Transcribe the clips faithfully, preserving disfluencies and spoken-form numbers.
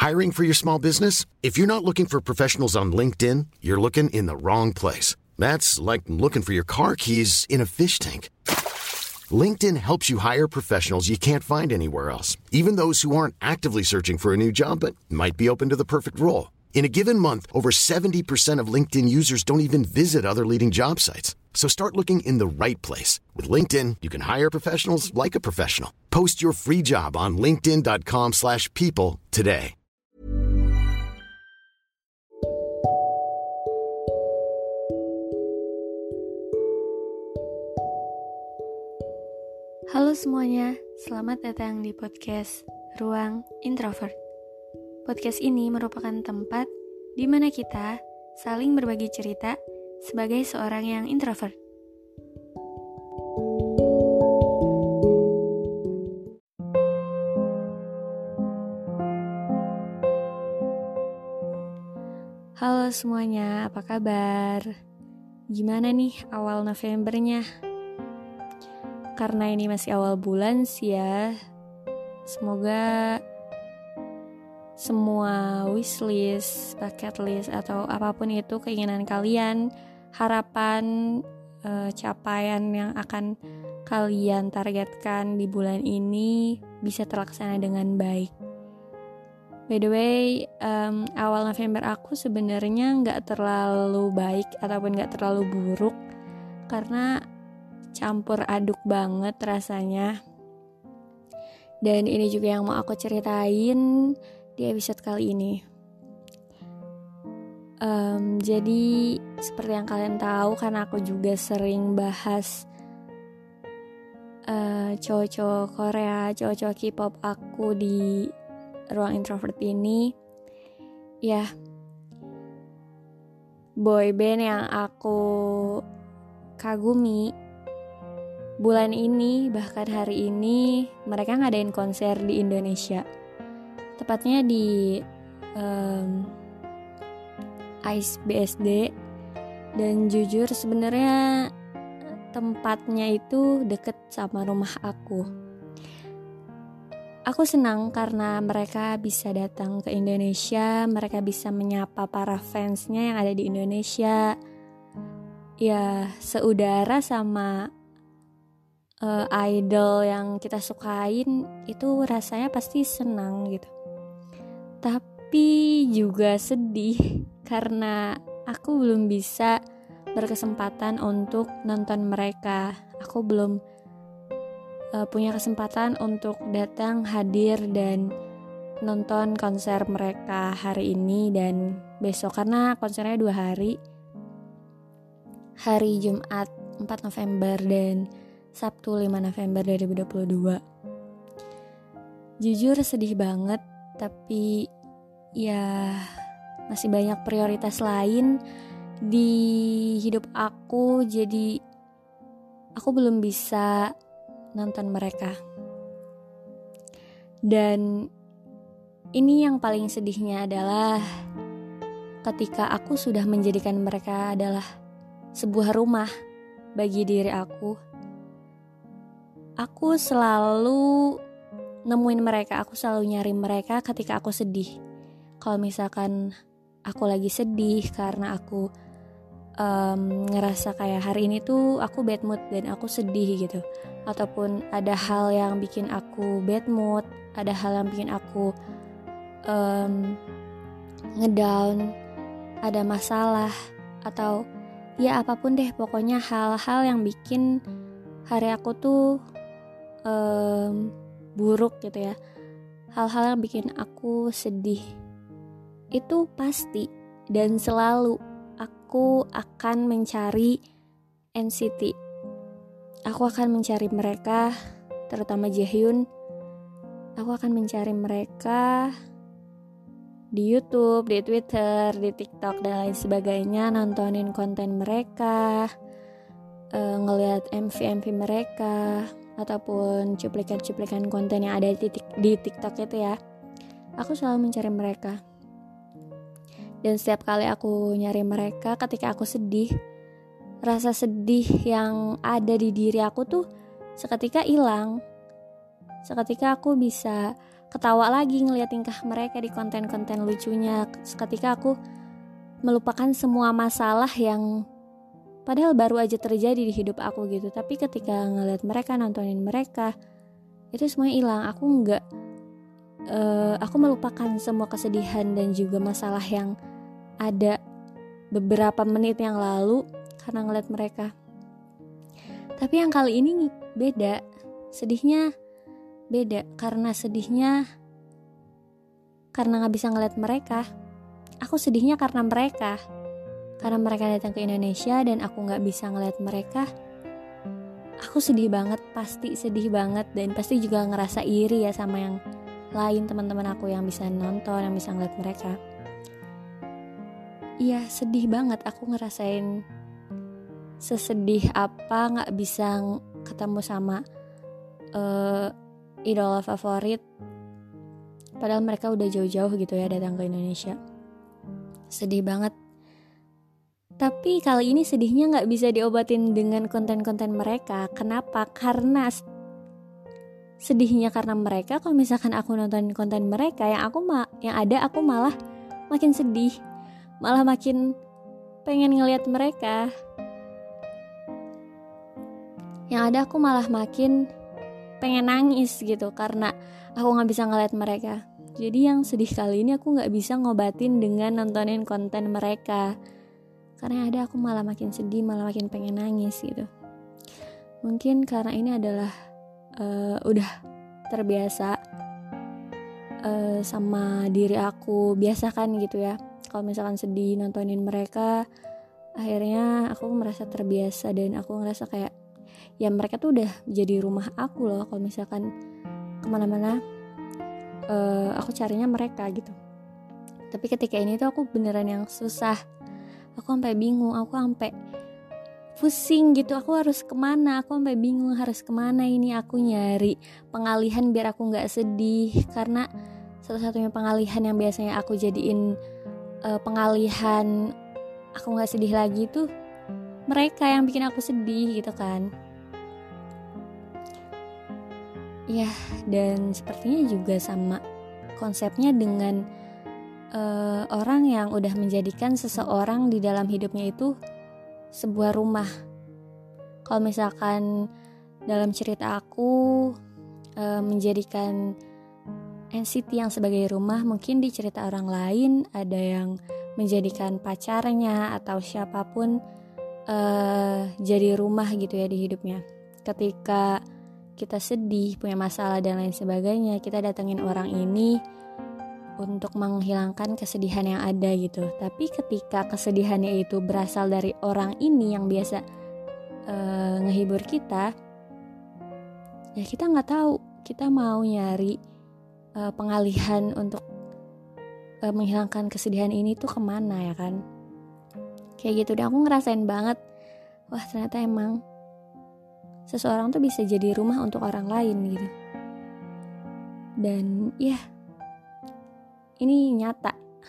Hiring for your small business? If you're not looking for professionals on LinkedIn, you're looking in the wrong place. That's like looking for your car keys in a fish tank. LinkedIn helps you hire professionals you can't find anywhere else, even those who aren't actively searching for a new job but might be open to the perfect role. In a given month, over seventy percent of LinkedIn users don't even visit other leading job sites. So start looking in the right place. With LinkedIn, you can hire professionals like a professional. Post your free job on linkedin.com slash people today. Halo semuanya, selamat datang di podcast Ruang Introvert. Podcast ini merupakan tempat di mana kita saling berbagi cerita sebagai seorang yang introvert. Halo semuanya, apa kabar? Gimana nih awal Novembernya? Karena ini masih awal bulan sih ya, semoga semua wishlist, bucket list, atau apapun itu keinginan kalian, harapan, e, capaian yang akan kalian targetkan di bulan ini bisa terlaksana dengan baik. By the way, um, awal November aku sebenarnya nggak terlalu baik ataupun nggak terlalu buruk karena campur aduk banget rasanya. Dan ini juga yang mau aku ceritain di episode kali ini. Um, jadi seperti yang kalian tahu, karena aku juga sering bahas uh, cowok-cowok Korea, cowok-cowok K-pop aku di Ruang Introvert ini. Ya, boy band yang aku kagumi bulan ini, bahkan hari ini, mereka ngadain konser di Indonesia. Tepatnya di um, Ice B S D. Dan jujur sebenarnya tempatnya itu deket sama rumah aku. Aku senang karena mereka bisa datang ke Indonesia, mereka bisa menyapa para fansnya yang ada di Indonesia. Ya, seudara sama Uh, idol yang kita sukain, itu rasanya pasti senang gitu. Tapi juga sedih karena aku belum bisa berkesempatan untuk nonton mereka. Aku belum uh, punya kesempatan untuk datang, hadir, dan nonton konser mereka hari ini dan besok, karena konsernya dua hari, hari Jumat empat November dan Sabtu lima November dua ribu dua puluh dua. Jujur sedih banget, tapi ya masih banyak prioritas lain di hidup aku, jadi aku belum bisa nonton mereka. Dan ini yang paling sedihnya adalah ketika aku sudah menjadikan mereka adalah sebuah rumah bagi diri aku. Aku selalu nemuin mereka, aku selalu nyari mereka ketika aku sedih. Kalau misalkan aku lagi sedih karena aku um, ngerasa kayak hari ini tuh aku bad mood dan aku sedih gitu, ataupun ada hal yang bikin aku bad mood, ada hal yang bikin aku um, ngedown, ada masalah, atau ya apapun deh, pokoknya hal-hal yang bikin hari aku tuh Um, buruk gitu ya, hal-hal yang bikin aku sedih, itu pasti dan selalu aku akan mencari N C T. Aku akan mencari mereka, terutama Jaehyun. Aku akan mencari mereka di YouTube, di Twitter, di TikTok, dan lain sebagainya, nontonin konten mereka, uh, ngelihat M V M V mereka, ataupun cuplikan-cuplikan konten yang ada di, di TikTok itu ya. Aku selalu mencari mereka. Dan setiap kali aku nyari mereka, ketika aku sedih, rasa sedih yang ada di diri aku tuh seketika hilang. Seketika aku bisa ketawa lagi ngeliat tingkah mereka di konten-konten lucunya, ketika aku melupakan semua masalah yang padahal baru aja terjadi di hidup aku gitu. Tapi ketika ngeliat mereka, nontonin mereka, itu semuanya hilang. Aku nggak uh, aku melupakan semua kesedihan dan juga masalah yang ada beberapa menit yang lalu karena ngeliat mereka. Tapi yang kali ini beda, sedihnya beda. Karena sedihnya karena nggak bisa ngeliat mereka. Aku sedihnya karena mereka, karena mereka datang ke Indonesia dan aku nggak bisa ngeliat mereka. Aku sedih banget, pasti sedih banget, dan pasti juga ngerasa iri ya sama yang lain, teman-teman aku yang bisa nonton, yang bisa ngeliat mereka. Iya, sedih banget. Aku ngerasain sesedih apa nggak bisa ketemu sama uh, idola favorit, padahal mereka udah jauh-jauh gitu ya datang ke Indonesia. Sedih banget. Tapi kali ini sedihnya gak bisa diobatin dengan konten-konten mereka. Kenapa? Karena sedihnya karena mereka. Kalau misalkan aku nonton konten mereka, Yang aku ma- yang ada aku malah makin sedih, malah makin pengen ngelihat mereka. Yang ada aku malah makin pengen nangis gitu, karena aku gak bisa ngelihat mereka. Jadi yang sedih kali ini aku gak bisa ngobatin dengan nontonin konten mereka, karena yang ada aku malah makin sedih, malah makin pengen nangis gitu. Mungkin karena ini adalah uh, udah terbiasa uh, sama diri aku. Biasa kan gitu ya, kalau misalkan sedih nontonin mereka, akhirnya aku merasa terbiasa. Dan aku ngerasa kayak ya mereka tuh udah jadi rumah aku loh. Kalau misalkan kemana-mana Uh, aku carinya mereka gitu. Tapi ketika ini tuh aku beneran yang susah. Aku sampai bingung, aku sampai pusing gitu. Aku harus kemana? Aku sampai bingung harus kemana ini. Aku nyari pengalihan biar aku nggak sedih, karena satu-satunya pengalihan yang biasanya aku jadiin uh, pengalihan aku nggak sedih lagi tuh mereka yang bikin aku sedih gitu kan. Ya, dan sepertinya juga sama konsepnya dengan uh, orang yang udah menjadikan seseorang di dalam hidupnya itu sebuah rumah. Kalau misalkan dalam cerita aku uh, menjadikan N C T yang sebagai rumah, mungkin di cerita orang lain ada yang menjadikan pacarnya atau siapapun uh, jadi rumah gitu ya di hidupnya. Ketika kita sedih, punya masalah dan lain sebagainya, kita datengin orang ini untuk menghilangkan kesedihan yang ada gitu. Tapi ketika kesedihannya itu berasal dari orang ini yang biasa uh, ngehibur kita, ya kita nggak tahu kita mau nyari uh, pengalihan untuk uh, menghilangkan kesedihan ini tuh kemana ya kan. Kayak gitu, dan aku ngerasain banget, wah ternyata emang seseorang tuh bisa jadi rumah untuk orang lain gitu. Dan ya, ini nyata.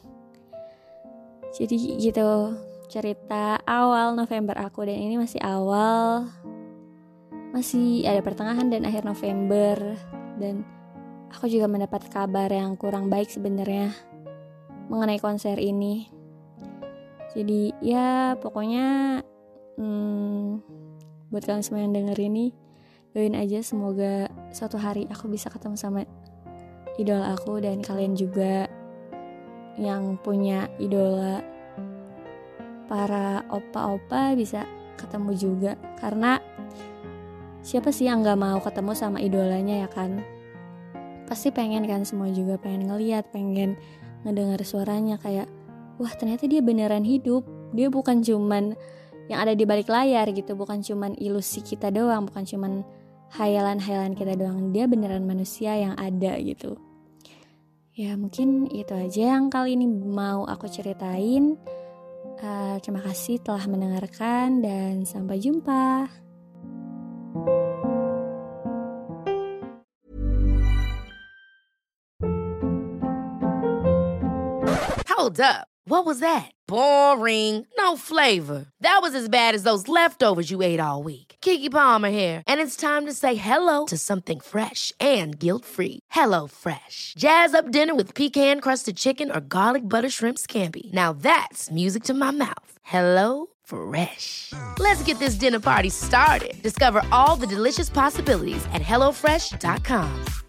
Jadi gitu cerita awal November aku, dan ini masih awal, masih ada pertengahan dan akhir November. Dan aku juga mendapat kabar yang kurang baik sebenarnya mengenai konser ini. Jadi ya pokoknya hmm, buat kalian semua yang denger ini, doain aja semoga suatu hari aku bisa ketemu sama idola aku, dan kalian juga yang punya idola para opa-opa bisa ketemu juga. Karena siapa sih yang gak mau ketemu sama idolanya ya kan? Pasti pengen kan, semua juga pengen ngeliat, pengen ngedengar suaranya, kayak wah ternyata dia beneran hidup. Dia bukan cuman yang ada di balik layar gitu, bukan cuman ilusi kita doang, bukan cuman hayalan-hayalan kita doang. Dia beneran manusia yang ada gitu. Ya mungkin itu aja yang kali ini mau aku ceritain. uh, Terima kasih telah mendengarkan, dan sampai jumpa. Hold up. What was that? Boring. No flavor. That was as bad as those leftovers you ate all week. Keke Palmer here, and it's time to say hello to something fresh and guilt-free. Hello Fresh. Jazz up dinner with pecan-crusted chicken or garlic butter shrimp scampi. Now that's music to my mouth. Hello Fresh. Let's get this dinner party started. Discover all the delicious possibilities at hello fresh dot com.